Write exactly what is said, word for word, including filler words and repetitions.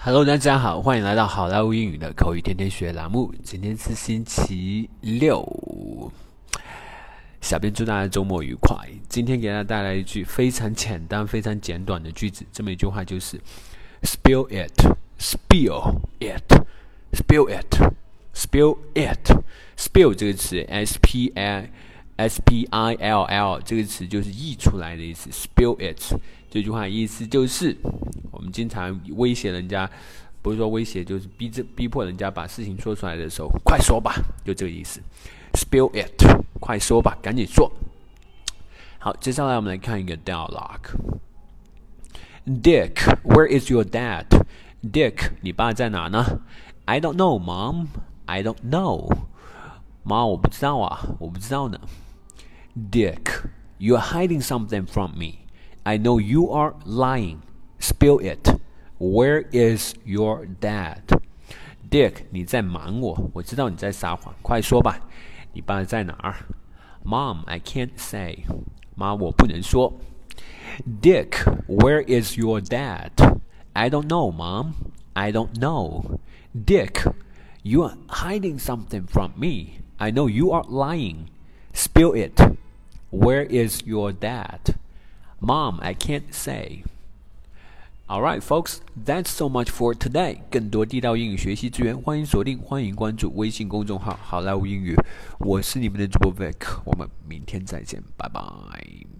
Hello，大家好，欢迎来到好莱坞英语的口语天天学栏目。今天是星期六，小编祝大家周末愉快。今天给大家带来一句非常简单、非常简短的句子，这么一句话就是 ：Spill it, spill it, spill it, spill it. Spill 这个词 ，s p i s p i l l 这个词就是溢出来的意思。Spill it 这句话的意思就是，我们经常威胁人家，不是说威胁，就是逼着逼迫人家把事情说出来的时候，快说吧，就这个意思。Spill it， 快说吧，赶紧说。好，接下来我们来看一个 dialogue。Dick, where is your dad? Dick, 你爸在哪呢 ？I don't know, Mom. I don't know. 妈，我不知道啊，我不知道呢。Dick, you are hiding something from me. I know you are lying. Spill it. Where is your dad? Dick, 你在瞒我，我知道你在撒谎，快说吧，你爸在哪儿 ？Mom, I can't say. 妈，我不能说。Dick, where is your dad? I don't know, Mom. I don't know. Dick, you are hiding something from me. I know you are lying. Spill it. Where is your dad? Mom, I can't say. Alright, folks, that's so much for today. 更多地道英语学习资源，欢迎锁定，欢迎关注微信公众号“好莱坞英语”。我是你们的主播 Vic， 我们明天再见，拜拜。